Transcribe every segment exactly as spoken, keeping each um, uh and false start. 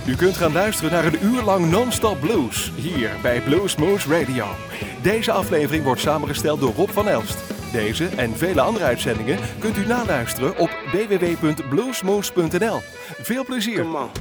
U kunt gaan luisteren naar een uur lang non-stop blues, hier bij Bluesmoose Radio. Deze aflevering wordt samengesteld door Rob van Elst. Deze en vele andere uitzendingen kunt u naluisteren op w w w punt bluesmoose punt n l. Veel plezier!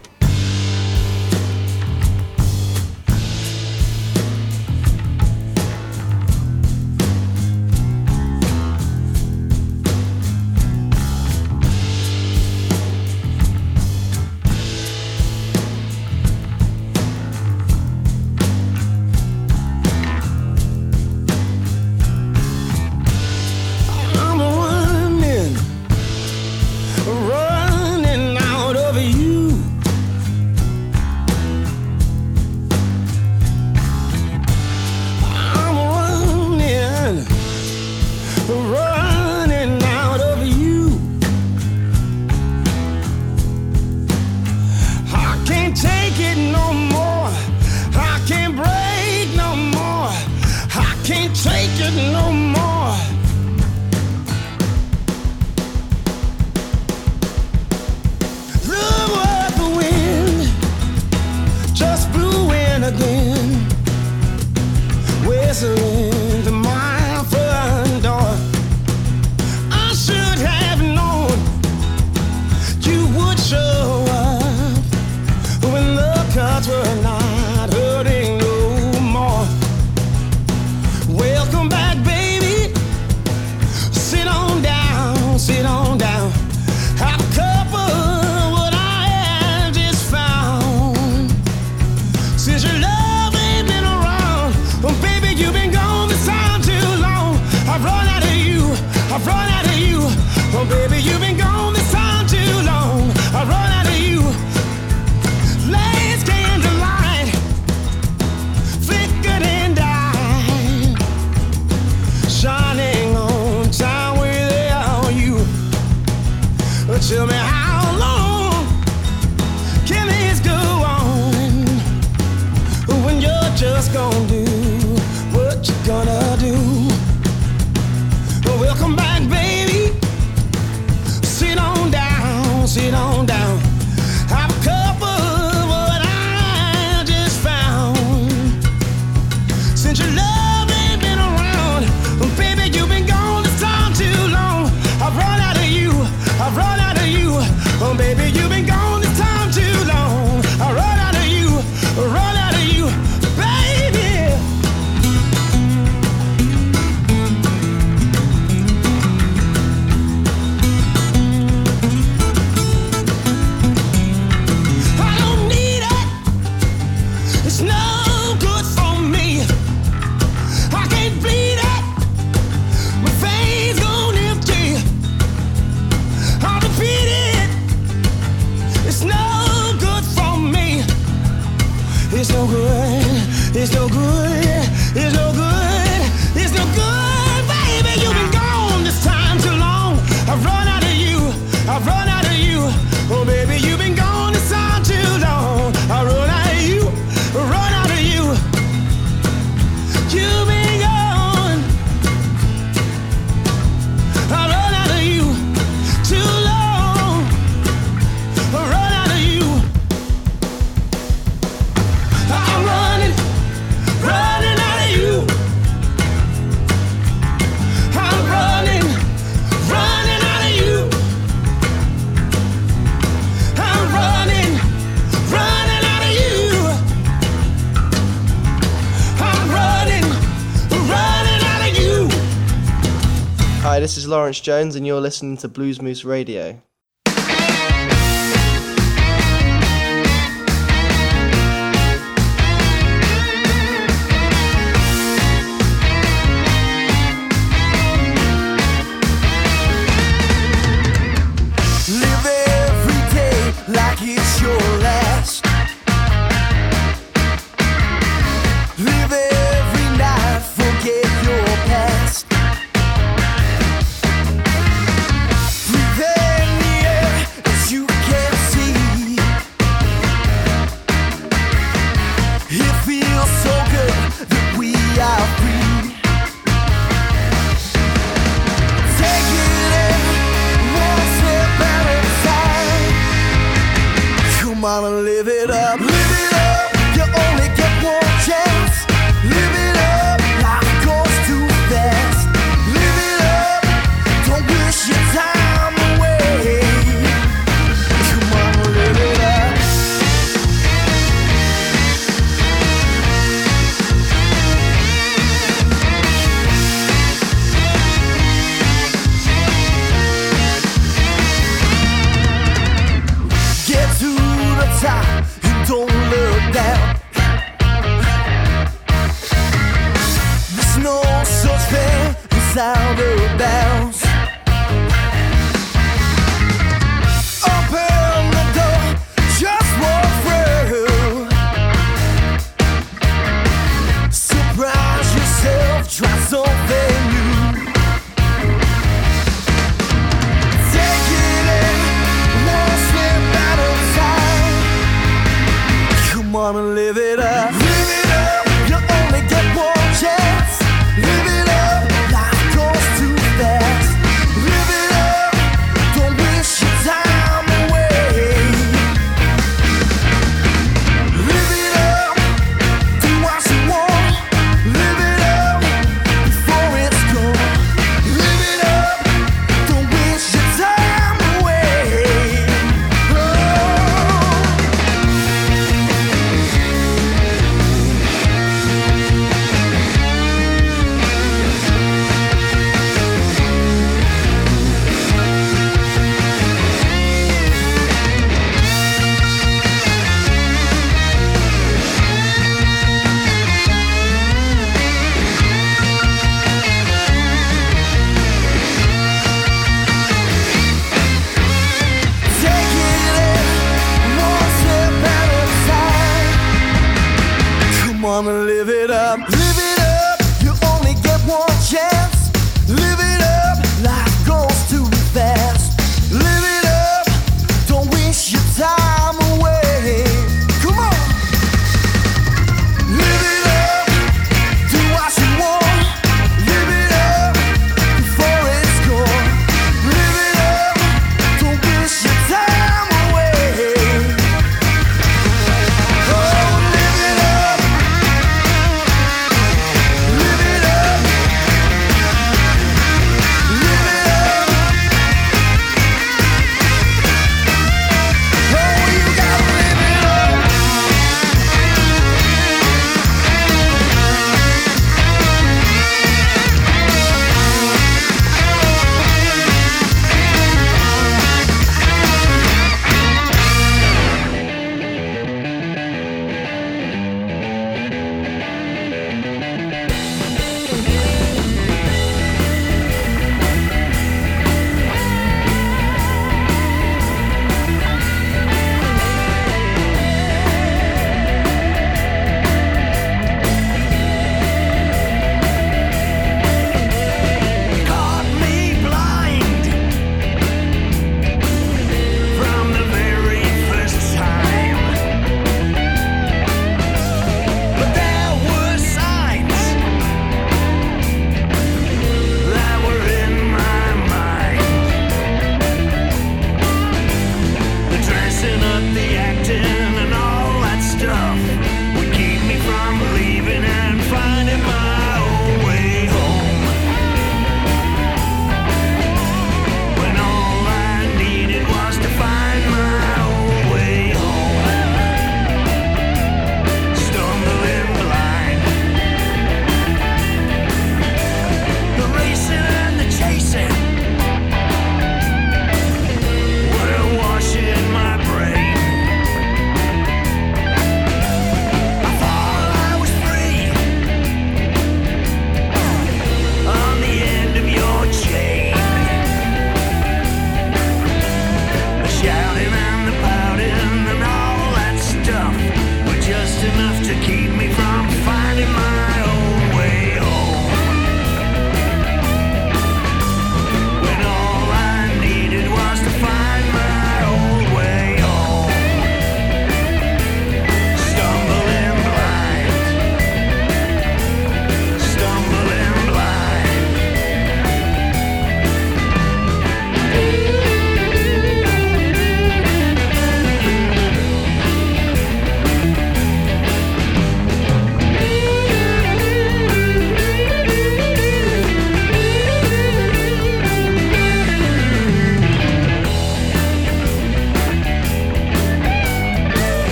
Hi, this is Lawrence Jones and you're listening to Bluesmoose Radio. Live every day like it's your last. Live every night, forget your past. Come on and live it up. time away. Come on, live it up. Get to the top and don't look down. There's no such thing as out of bounds.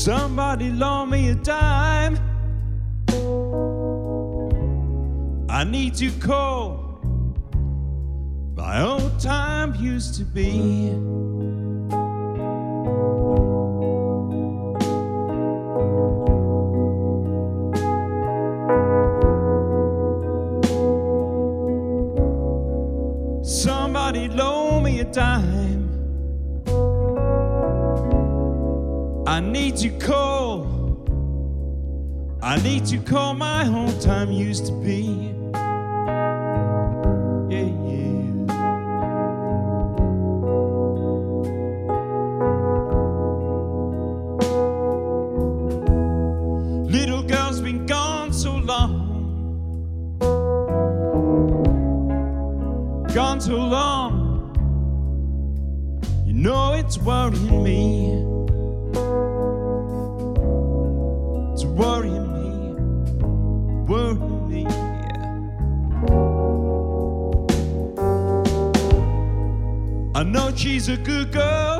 Somebody loan me a dime. I need to call my old time used to be. Somebody loan me a dime. I need to call. I need to call my home time used to be. Yeah, yeah. Little girl's been gone so long. Gone so long. You know it's worrying me. It's worrying me, worrying me, yeah. I know she's a good girl,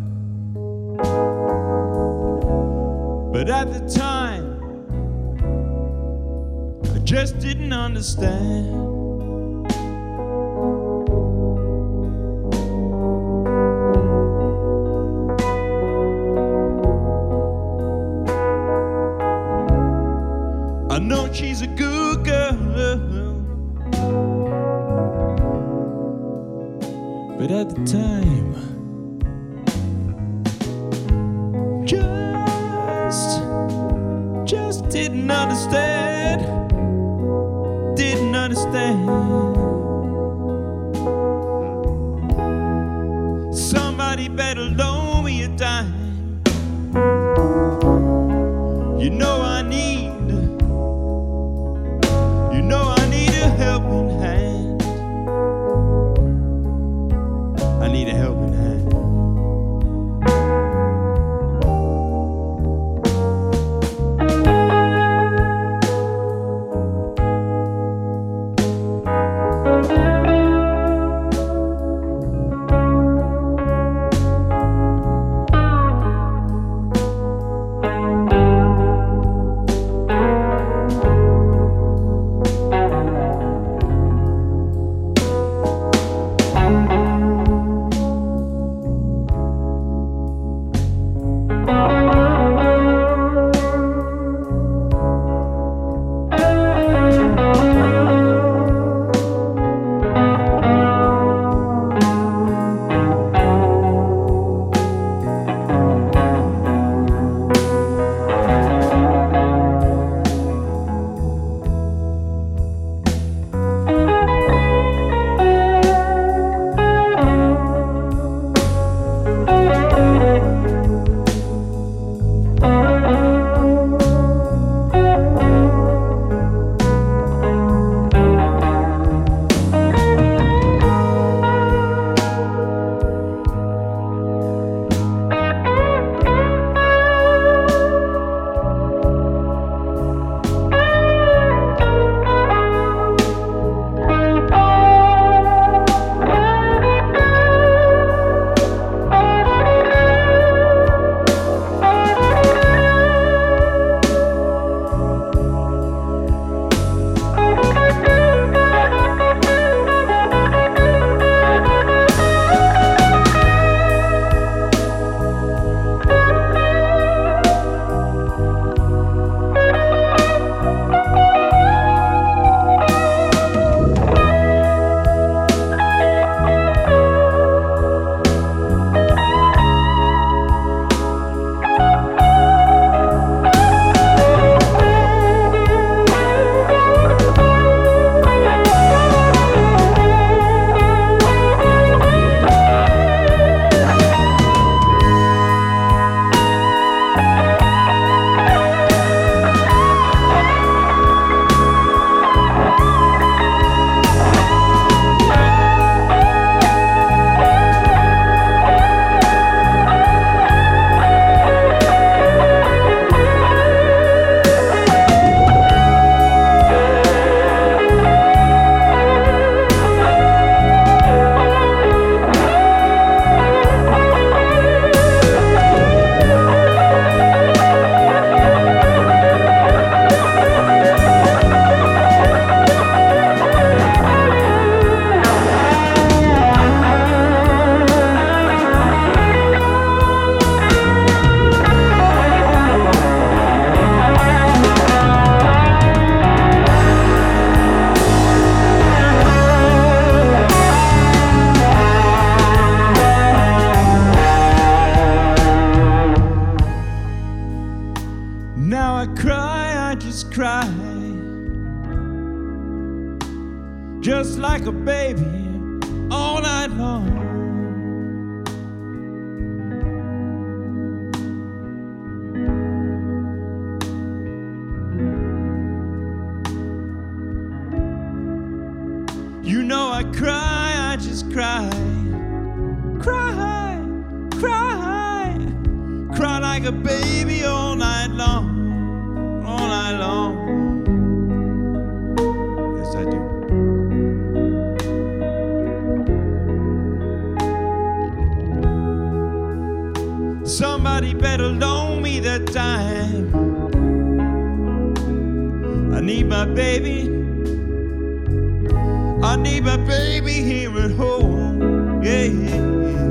but at the time I just didn't understand. I know she's a good girl, but at the time, just, just didn't understand, didn't understand. Somebody better loan me a dime. You know I need. You know I need a helping hand. I need a helping hand. I just cry, just like a baby all night long. You know I cry, I just cry, cry, cry, cry like a baby all night long, all night long. Yes, I do. Somebody better loan me that time. I need my baby, I need my baby here at home. Yeah, yeah, yeah.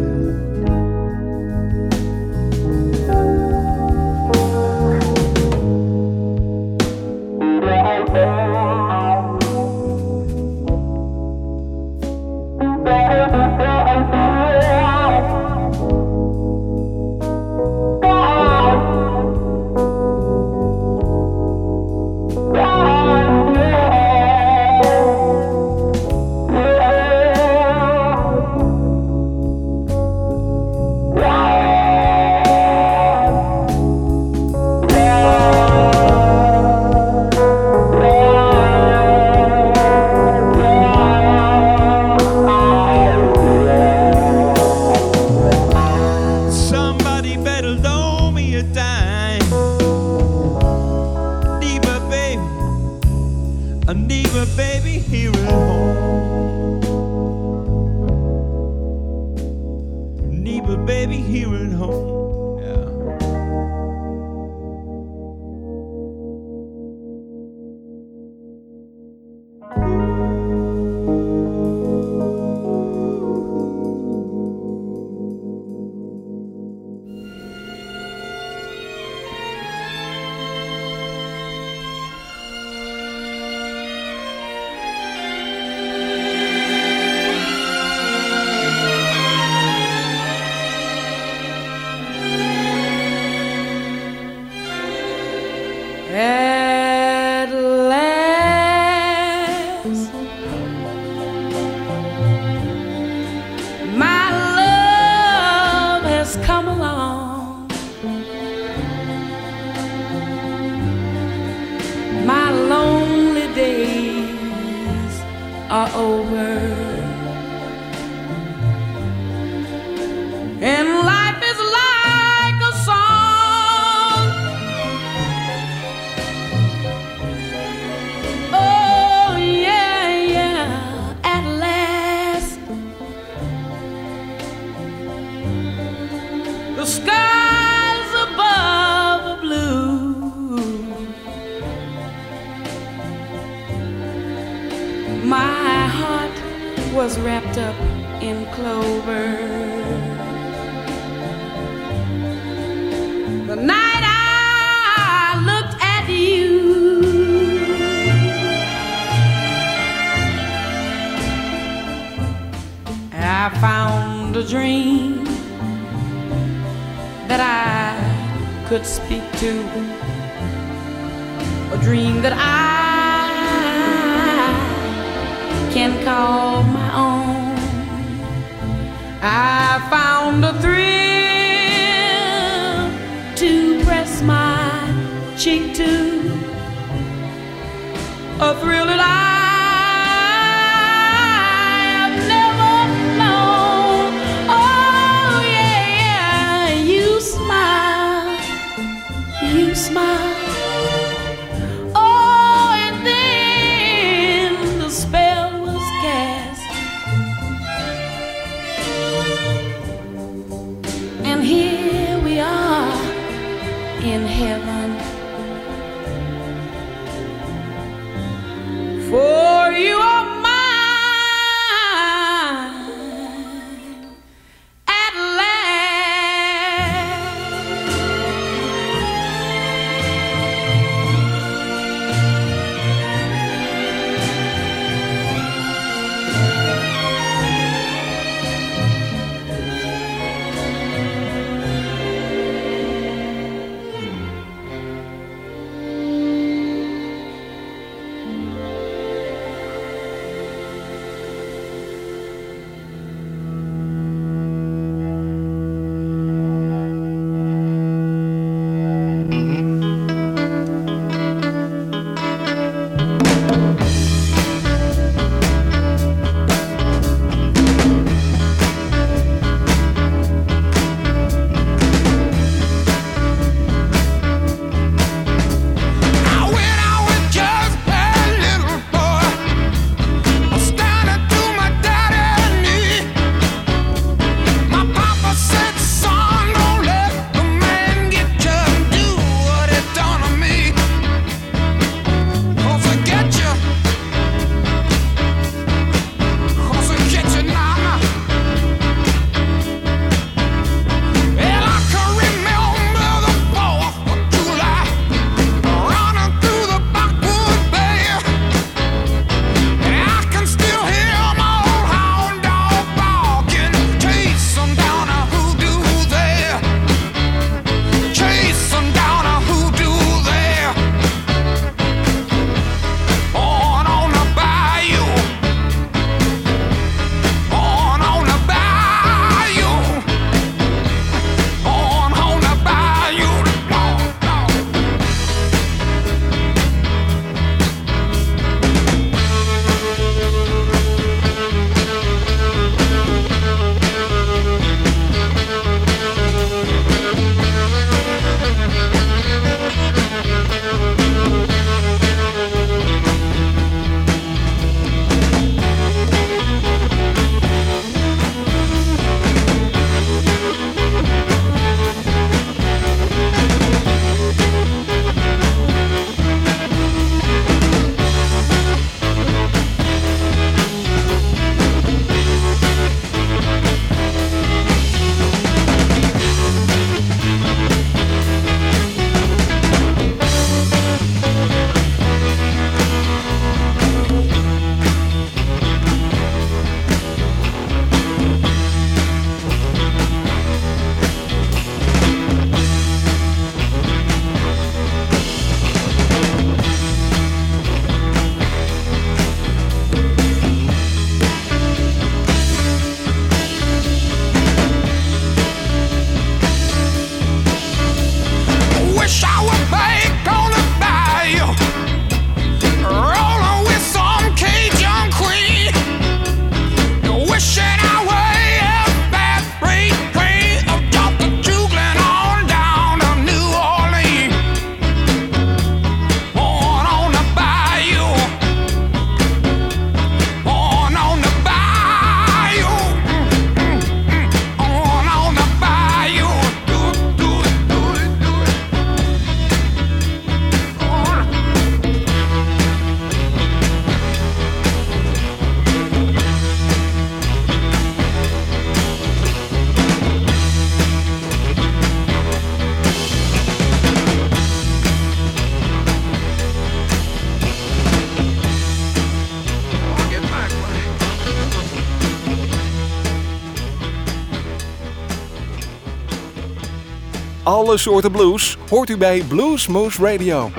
Alle soorten blues hoort u bij Bluesmoose Radio.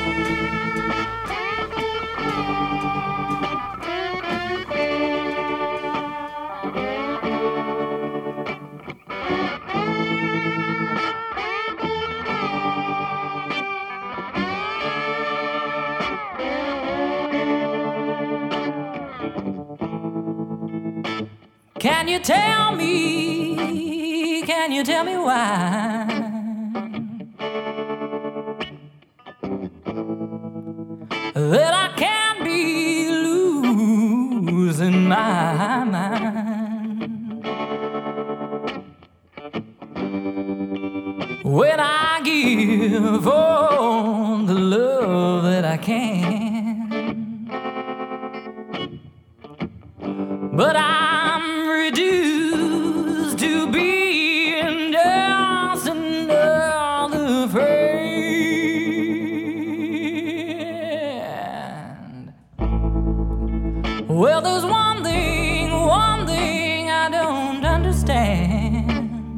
Can you tell me, can you tell me why? That I can't be losing my mind when I give all the love that I can, but I'm reduced to being just another friend. Well, there's one thing, one thing I don't understand.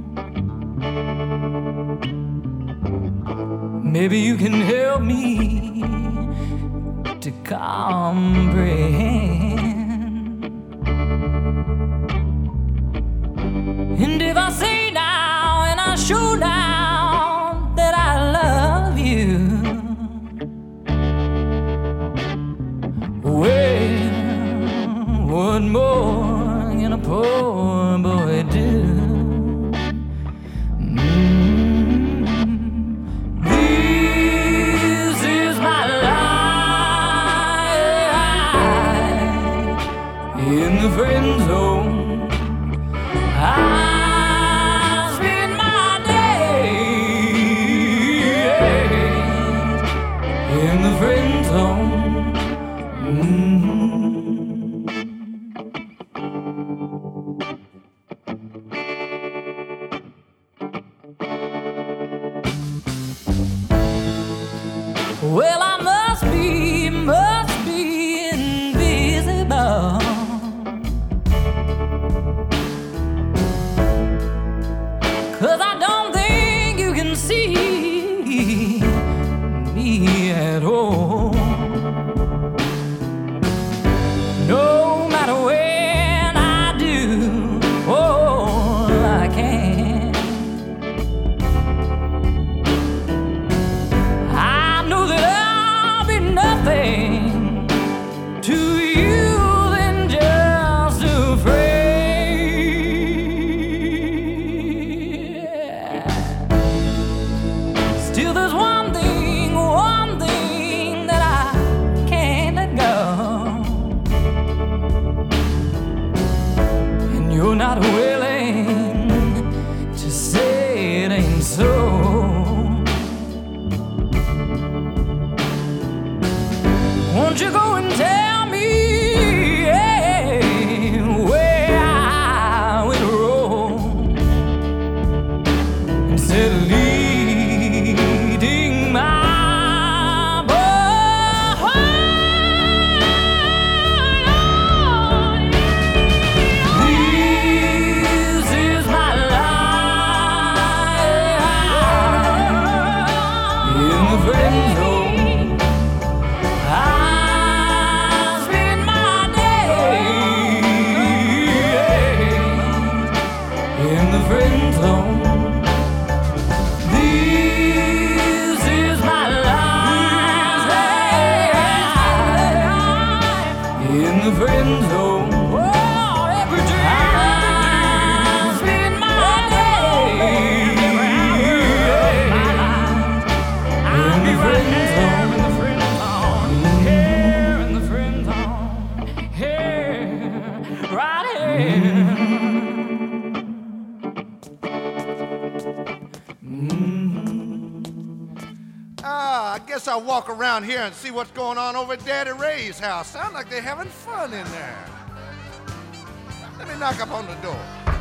Maybe you can help me to comprehend. And if I say now and I show now that I love you, well, what more can a poor boy do? Mm. This is my life in the friend zone. I in the friend zone. Mm-hmm. Well, I must be, must be invisible, 'cause I don't think you can see me at all. No matter when I do all I can, I know that I'll be nothing to you than just a friend. Still there's one thing, one thing that I can't let go, and you're not willing to say it ain't so. Won't you go and tell me, hey, where I went wrong, instead of leading my boy? This is my life in the friend zone. I spend my days in the friend zone. This is my life in the friend zone. Oh, every day I spend my days in the friend zone. In the friend zone, here in the friend zone, here, right here. Ah, I guess I'll walk around here and see what's going on over at Daddy Ray's house. Sound like they're having fun in there. Let me knock up on the door.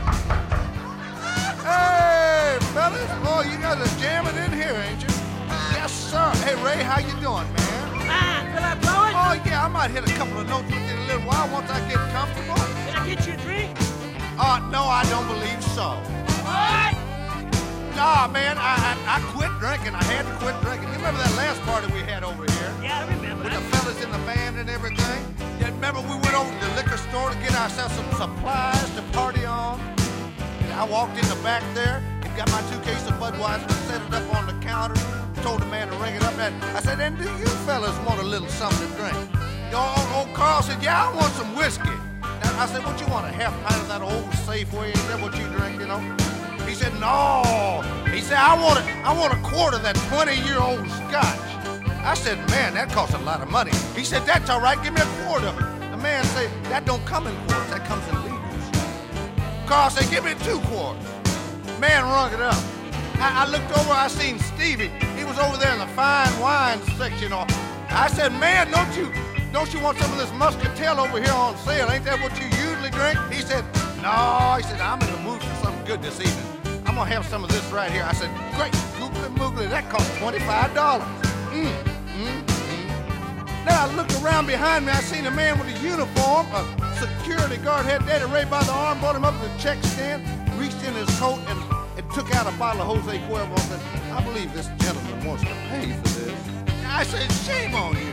Hey, fellas. Boy, you guys are jamming in here, ain't you? Yes, sir. Hey, Ray, how you doing, man? Fine. Feel like blowing? Oh, yeah, I might hit a couple of notes with you in a little while once I get comfortable. Can I get you a drink? Uh, no, I don't believe so. What? nah, man, I, I I quit drinking. I had to quit drinking. You remember that last party we had over here? Yeah, I remember. With the fellas in the band and everything? Yeah, remember we went over to the liquor store to get ourselves some supplies to party on? And I walked in the back there and got my two cases of Budweiser and set it up on the counter. Told the man to ring it up. And I said, and do you fellas want a little something to drink? The old, old Carl said, yeah, I want some whiskey. And I said, what you want, a half pint of that old Safeway? Is that what you drink, you know? He said, no. He said, I want, a, I want a quart of that twenty-year-old scotch. I said, man, that costs a lot of money. He said, that's all right, give me a quart of it. The man said, that don't come in quarts, that comes in liters. Carl said, give me two quarts. Man rung it up. I, I looked over, I seen Stevie. He was over there in the fine wine section. I said, man, don't you, don't you want some of this muscatel over here on sale? Ain't that what you usually drink? He said, no. He said, I'm in the mood for something good this evening. I'm gonna have some of this right here. I said, great, googly moogly, that costs twenty-five dollars. Mm, mm, mm. Now I looked around behind me, I seen a man with a uniform, a security guard had Daddy Ray by the arm, brought him up to the check stand, reached in his coat and, and took out a bottle of Jose Cuervo and said, I believe this gentleman wants to pay for this. I said, shame on you.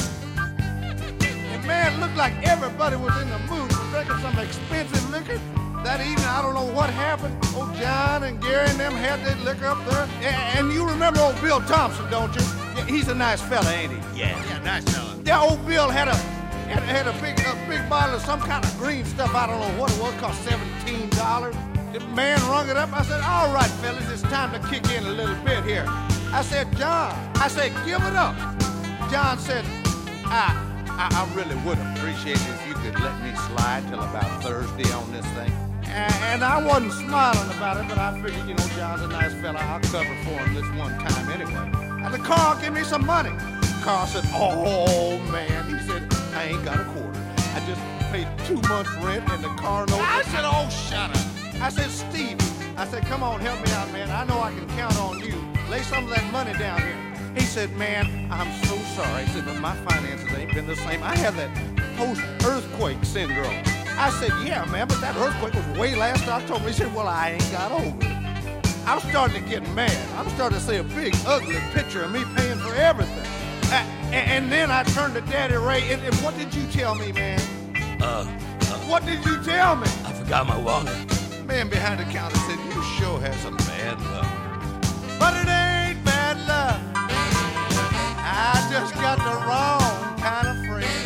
And man, looked like everybody was in the mood drinking some expensive liquor. That evening, I don't know what happened. Old John and Gary and them had that liquor up there. And, and you remember old Bill Thompson, don't you? Yeah, he's a nice fella, ain't he? Yeah, yeah, nice fella. Yeah, old Bill had a had, had a big a big bottle of some kind of green stuff. I don't know what it was. Cost seventeen dollars. The man rung it up. I said, all right, fellas, it's time to kick in a little bit here. I said, John, I said, give it up. John said, I, I, I really would appreciate it if you could let me slide till about Thursday on this thing. And, and I wasn't smiling about it, but I figured, you know, John's a nice fella. I'll cover for him this one time anyway. I said, Carl, give me some money. Carl said, oh, man. He said, I ain't got a quarter. I just paid two months' rent and the car note. I said, oh, shut up. I said, Steve, I said, come on, help me out, man. I know I can count on you. Lay some of that money down here. He said, man, I'm so sorry. He said, but my finances ain't been the same. I have that post-earthquake syndrome. I said, yeah, man, but that earthquake was way last October. He said, well, I ain't got over it. I'm starting to get mad. I'm starting to see a big, ugly picture of me paying for everything. I, and, and then I turned to Daddy Ray, and, and what did you tell me, man? Uh, uh, What did you tell me? I forgot my wallet. Man behind the counter said, you sure have some bad luck. But it ain't bad luck. I just got the wrong kind of friend.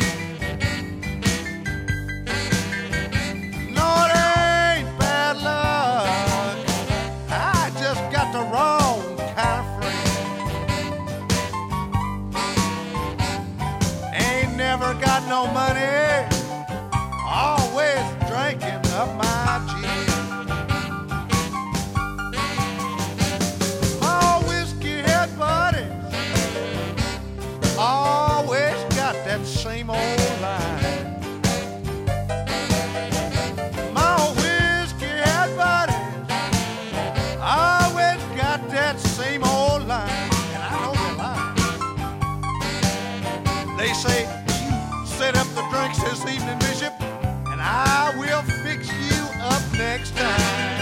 No, it ain't bad luck. I just got the wrong kind of friend. Ain't never got no money. Always drinking up my gin. Always got that same old line. My whiskey hat buddies always got that same old line. And I know they're lying. They say, you set up the drinks this evening, Bishop, and I will fix you up next time.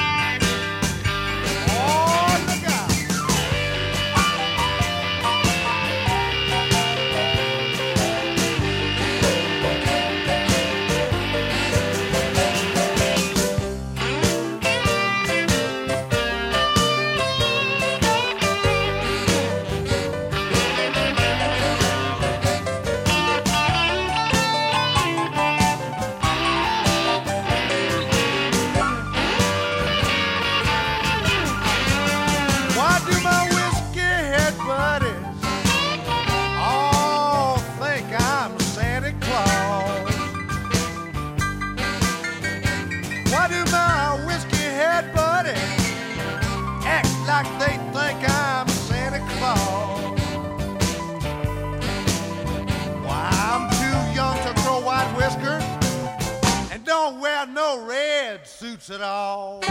Oh, look out. They think I'm Santa Claus. Why, I'm too young to grow white whiskers and don't wear no red suits at all.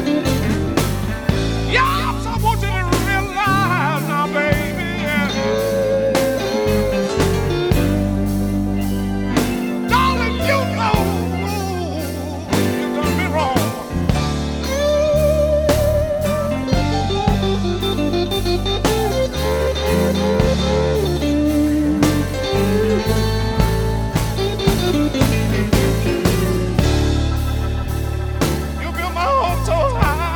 Yes, I want you to realize now, baby. Darling, you know you done me wrong. You built my home so high.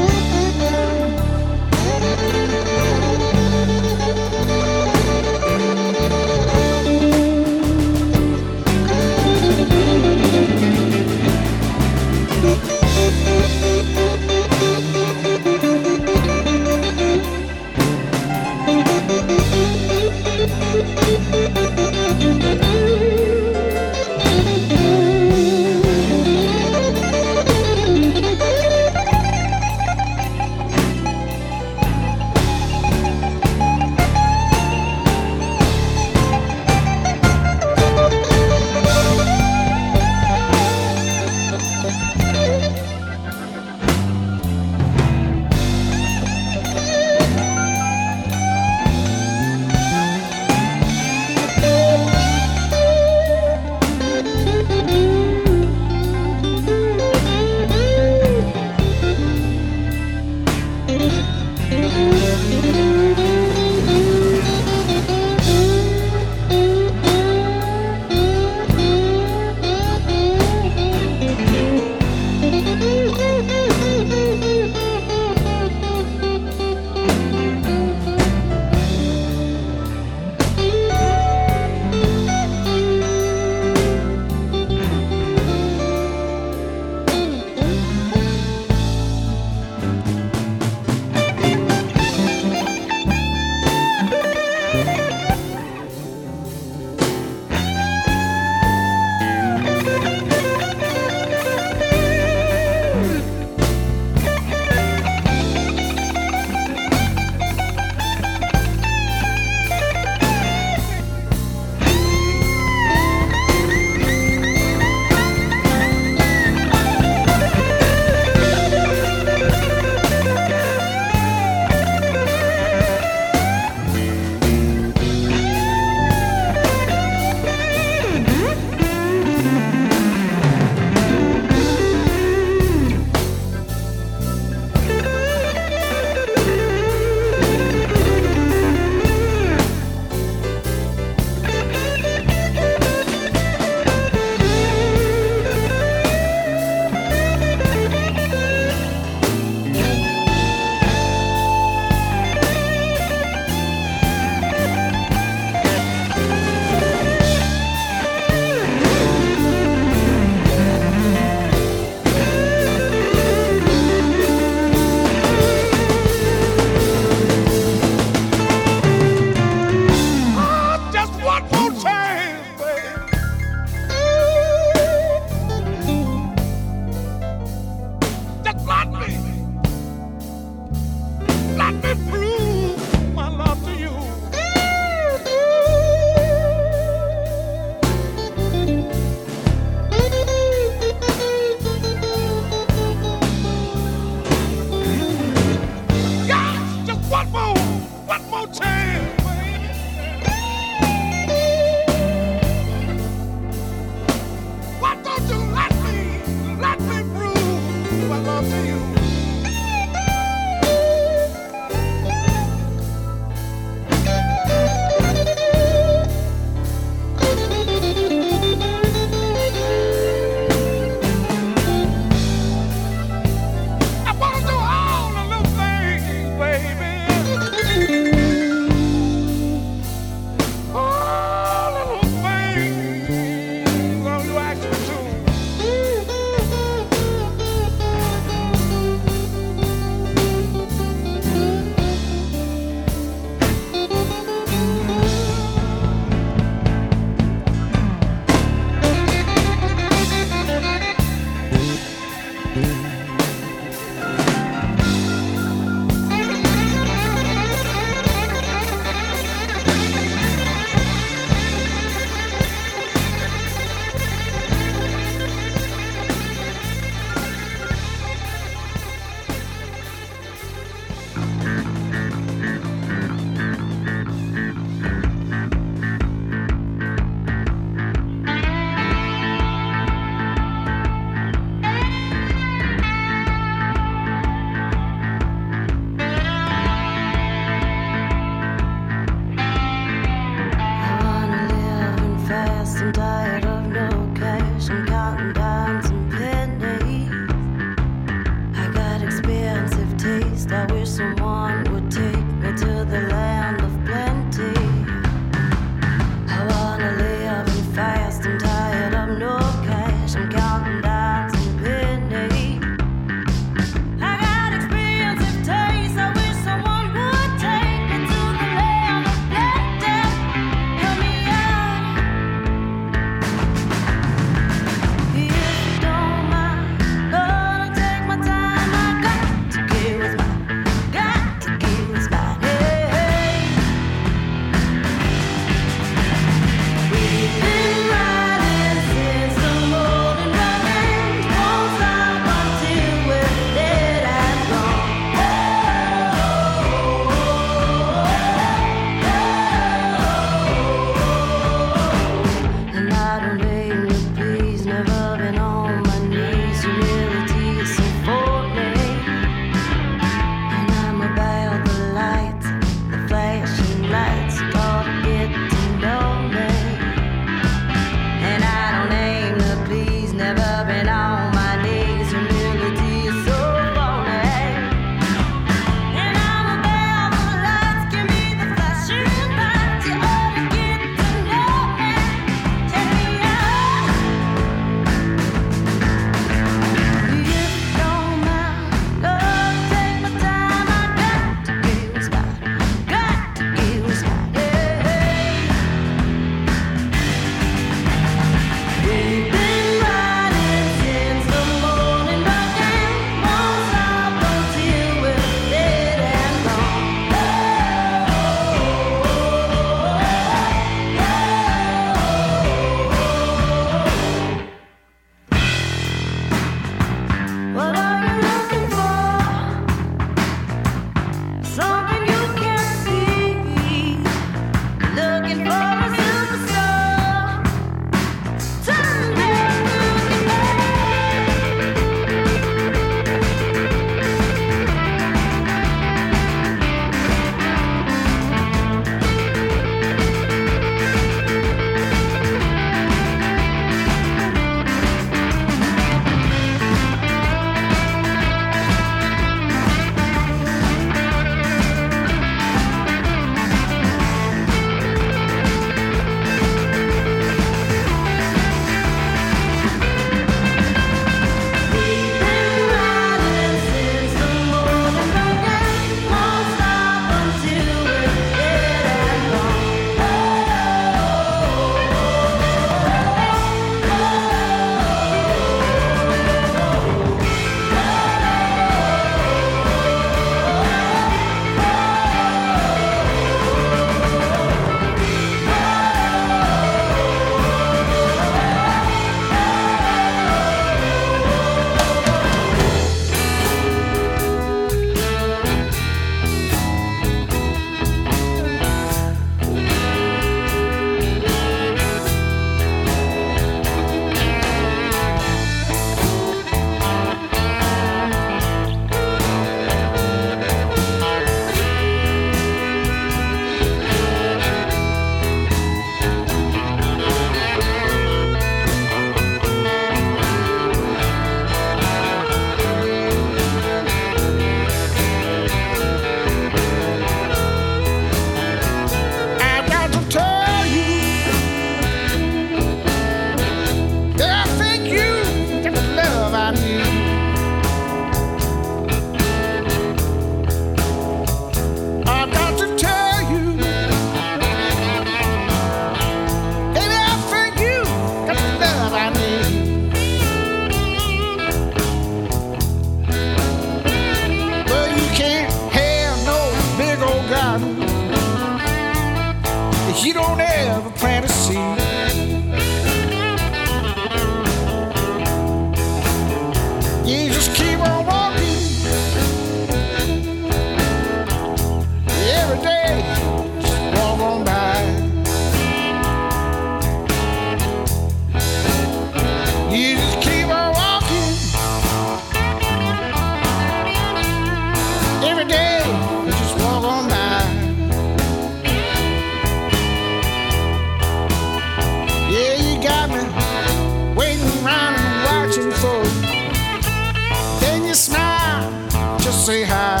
you smile, just say hi.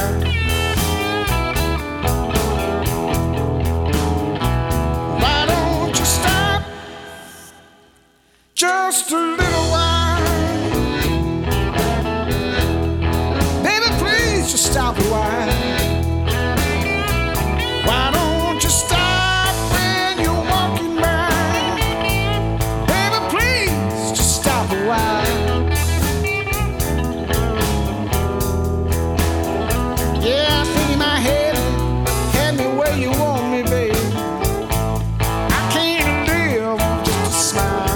Why don't you stop just a little while? Baby, please just stop a while. Why don't you stop when you're walking by? Baby, please just stop a while. Yeah, I think in my head, had me where you want me, baby. I can't live on just a smile.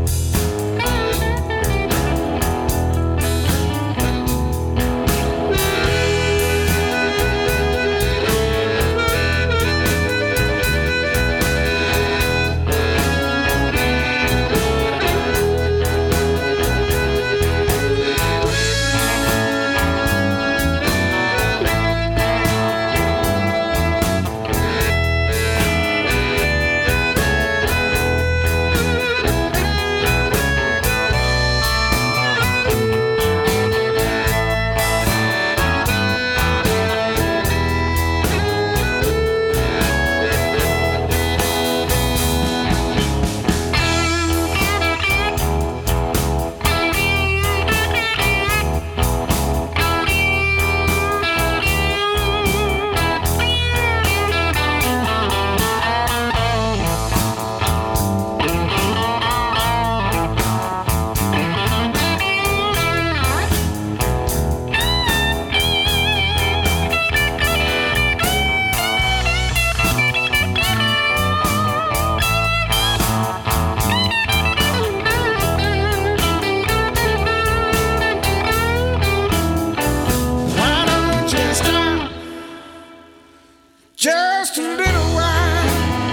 Just a little while.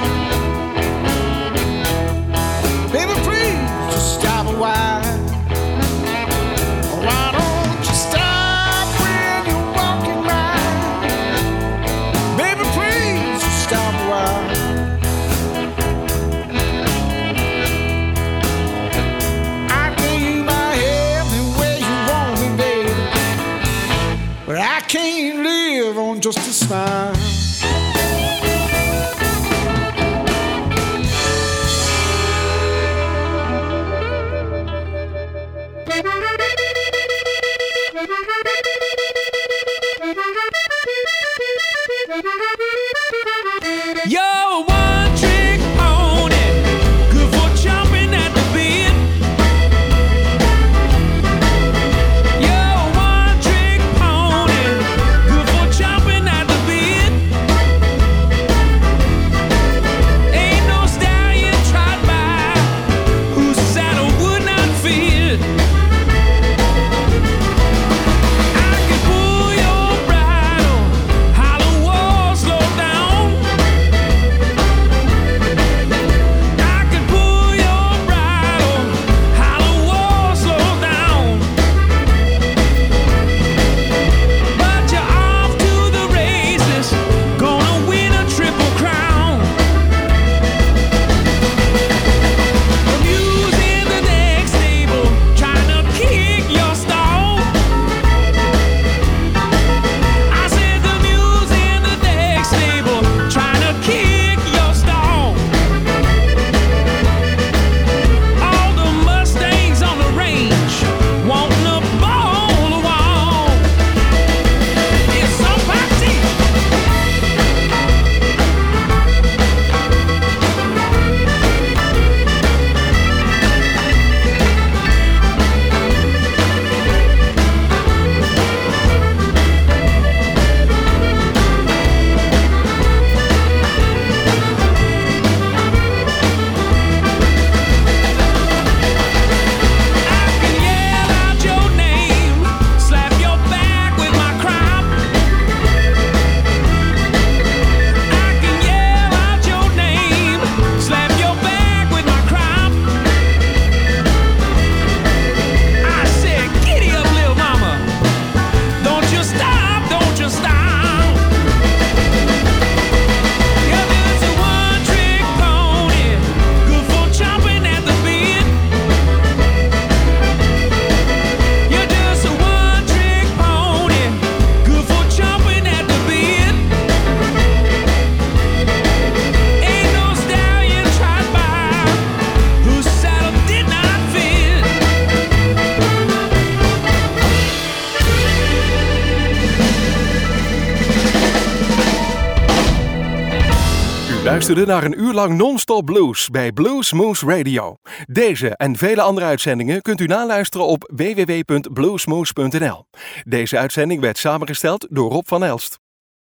Baby, please just stop a while. Why don't you stop when you're walking by? Baby, please just stop a while. I gave my head the way you want me, baby, but I can't live on just a smile. You're a one-trick pony, good for chomping at the bit. You're a one-trick pony, good for chomping at the bit. Luisterde naar een uur lang non-stop blues bij Bluesmoose Radio. Deze en vele andere uitzendingen kunt u naluisteren op w w w punt bluesmoose punt n l. Deze uitzending werd samengesteld door Rob van Elst.